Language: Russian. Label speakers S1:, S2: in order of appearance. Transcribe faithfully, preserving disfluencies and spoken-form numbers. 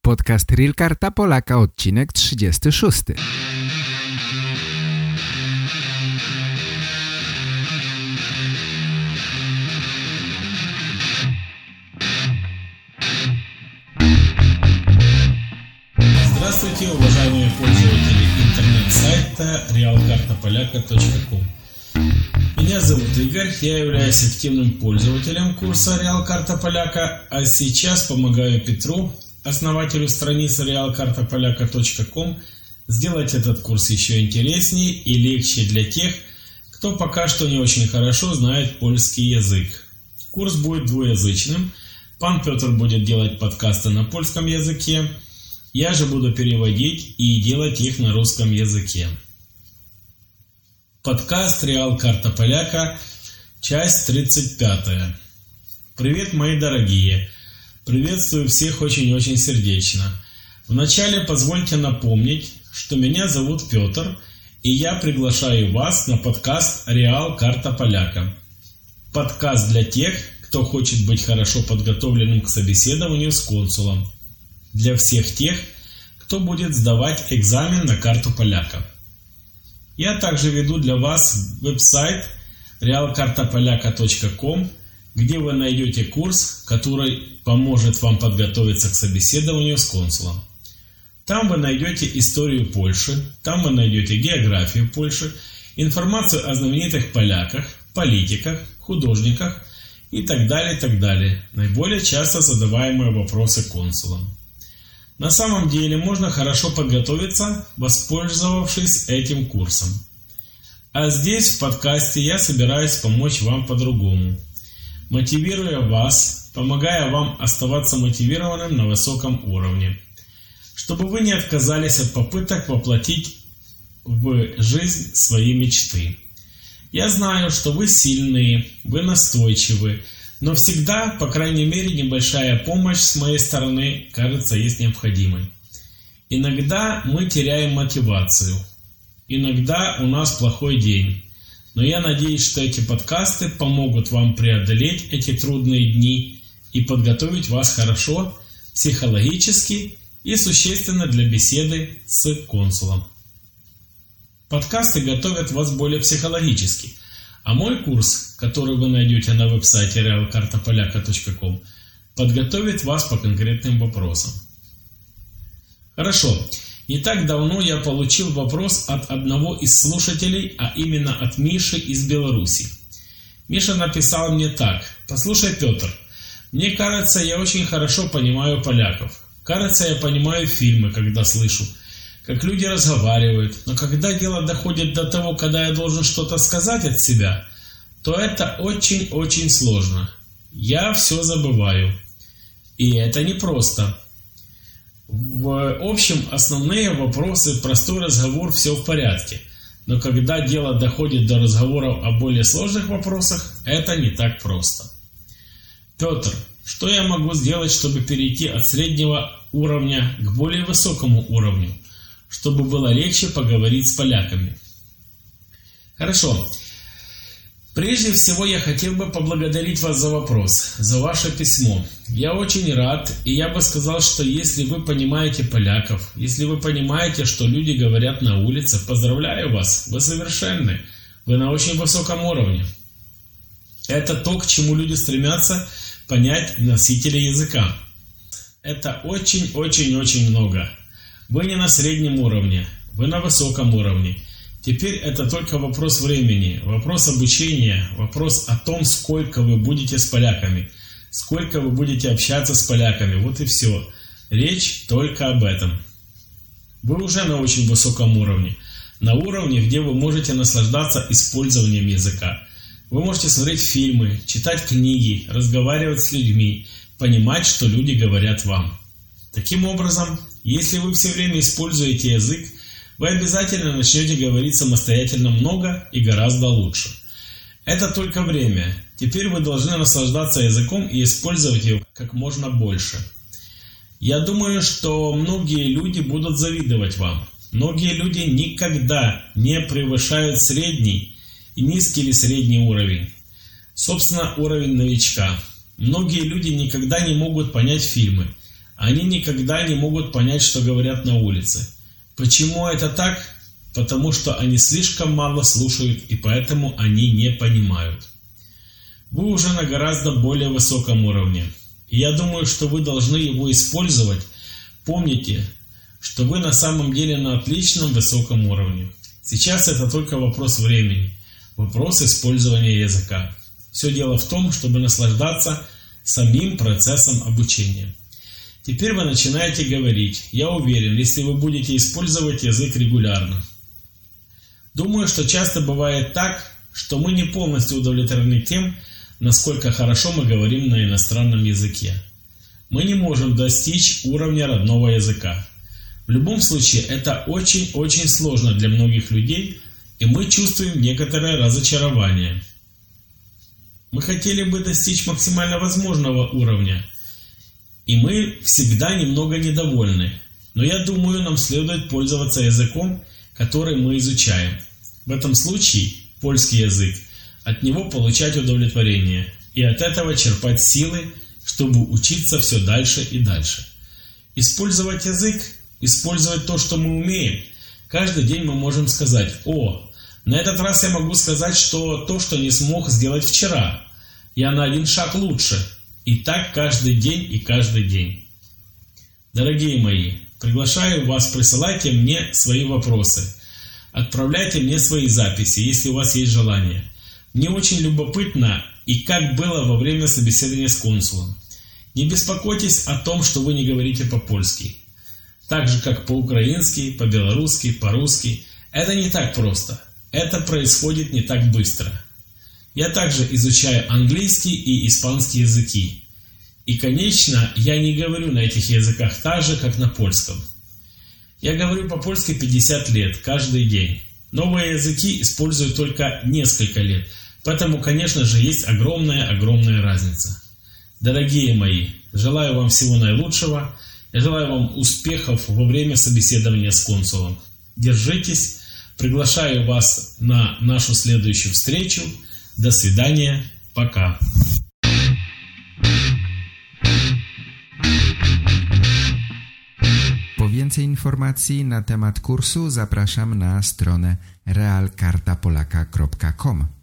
S1: Podcast Real Karta Polaka, odcinek trzydziesty szósty.
S2: Здравствуйте, уважаемые пользователи интернет-сайта реал карта поляка точка ком. Меня зовут Игорь, я являюсь активным пользователем курса Реал Карта Поляка, а сейчас помогаю Петру, основателю страницы реал карта поляка точка ком, сделать этот курс еще интереснее и легче для тех, кто пока что не очень хорошо знает польский язык. Курс будет двуязычным, пан Петр будет делать подкасты на польском языке, я же буду переводить и делать их на русском языке. Подкаст Реал Карта Поляка, часть тридцать пятая. Привет, мои дорогие! Приветствую всех очень-очень сердечно. Вначале позвольте напомнить, что меня зовут Петр, и я приглашаю вас на подкаст Реал Карта Поляка. Подкаст для тех, кто хочет быть хорошо подготовленным к собеседованию с консулом. Для всех тех, кто будет сдавать экзамен на карту поляка. Я также веду для вас веб-сайт реал карта поляка точка ком, где вы найдете курс, который поможет вам подготовиться к собеседованию с консулом. Там вы найдете историю Польши, там вы найдете географию Польши, информацию о знаменитых поляках, политиках, художниках и так далее, так далее. Наиболее часто задаваемые вопросы консулам. На самом деле можно хорошо подготовиться, воспользовавшись этим курсом. А здесь в подкасте я собираюсь помочь вам по-другому, мотивируя вас, помогая вам оставаться мотивированным на высоком уровне, чтобы вы не отказались от попыток воплотить в жизнь свои мечты. Я знаю, что вы сильные, вы настойчивы, но всегда, по крайней мере, небольшая помощь с моей стороны, кажется, есть необходимой. Иногда мы теряем мотивацию. Иногда у нас плохой день. Но я надеюсь, что эти подкасты помогут вам преодолеть эти трудные дни и подготовить вас хорошо, психологически и существенно для беседы с консулом. Подкасты готовят вас более психологически. А мой курс, который вы найдете на веб-сайте реал карта поляка точка ком, подготовит вас по конкретным вопросам. Хорошо. Не так давно я получил вопрос от одного из слушателей, а именно от Миши из Беларуси. Миша написал мне так: «Послушай, Петр, мне кажется, я очень хорошо понимаю поляков. Кажется, я понимаю фильмы, когда слышу, как люди разговаривают, но когда дело доходит до того, когда я должен что-то сказать от себя, то это очень-очень сложно. Я все забываю. И это непросто. В общем, основные вопросы, простой разговор, все в порядке. Но когда дело доходит до разговоров о более сложных вопросах, это не так просто. Петр, что я могу сделать, чтобы перейти от среднего уровня к более высокому уровню, чтобы было легче поговорить с поляками?» Хорошо. Прежде всего я хотел бы поблагодарить вас за вопрос, за ваше письмо. Я очень рад, и я бы сказал, что если вы понимаете поляков, если вы понимаете, что люди говорят на улице, поздравляю вас, вы совершенны, вы на очень высоком уровне. Это то, к чему люди стремятся понять носители языка. Это очень-очень-очень много. Вы не на среднем уровне, вы на высоком уровне. Теперь это только вопрос времени, вопрос обучения, вопрос о том, сколько вы будете с поляками, сколько вы будете общаться с поляками. Вот и все. Речь только об этом. Вы уже на очень высоком уровне, на уровне, где вы можете наслаждаться использованием языка. Вы можете смотреть фильмы, читать книги, разговаривать с людьми, понимать, что люди говорят вам. Таким образом, если вы все время используете язык, вы обязательно начнете говорить самостоятельно много и гораздо лучше. Это только время. Теперь вы должны наслаждаться языком и использовать его как можно больше. Я думаю, что многие люди будут завидовать вам. Многие люди никогда не превышают средний и низкий или средний уровень. Собственно, уровень новичка. Многие люди никогда не могут понять фильмы. Они никогда не могут понять, что говорят на улице. Почему это так? Потому что они слишком мало слушают, и поэтому они не понимают. Вы уже на гораздо более высоком уровне. И я думаю, что вы должны его использовать. Помните, что вы на самом деле на отличном высоком уровне. Сейчас это только вопрос времени, вопрос использования языка. Все дело в том, чтобы наслаждаться самим процессом обучения. Теперь вы начинаете говорить. Я уверен, если вы будете использовать язык регулярно. Думаю, что часто бывает так, что мы не полностью удовлетворены тем, насколько хорошо мы говорим на иностранном языке. Мы не можем достичь уровня родного языка. В любом случае, это очень-очень сложно для многих людей, и мы чувствуем некоторое разочарование. Мы хотели бы достичь максимально возможного уровня, и мы всегда немного недовольны. Но я думаю, нам следует пользоваться языком, который мы изучаем. В этом случае польский язык, от него получать удовлетворение и от этого черпать силы, чтобы учиться все дальше и дальше. Использовать язык, использовать то, что мы умеем. Каждый день мы можем сказать: «О, на этот раз я могу сказать, что то, что не смог сделать вчера, я на один шаг лучше». И так каждый день и каждый день. Дорогие мои, приглашаю вас, присылайте мне свои вопросы. Отправляйте мне свои записи, если у вас есть желание. Мне очень любопытно, и как было во время собеседования с консулом. Не беспокойтесь о том, что вы не говорите по-польски. Так же, как по-украински, по-белорусски, по-русски. Это не так просто. Это происходит не так быстро. Я также изучаю английский и испанский языки. И, конечно, я не говорю на этих языках так же, как на польском. Я говорю по-польски пятьдесят лет, каждый день. Новые языки использую только несколько лет. Поэтому, конечно же, есть огромная-огромная разница. Дорогие мои, желаю вам всего наилучшего. Я желаю вам успехов во время собеседования с консулом. Держитесь. Приглашаю вас на нашу следующую встречу. До свидания. Пока.
S1: Po więcej informacji na temat kursu zapraszam na stronę real karta polaka kropka com.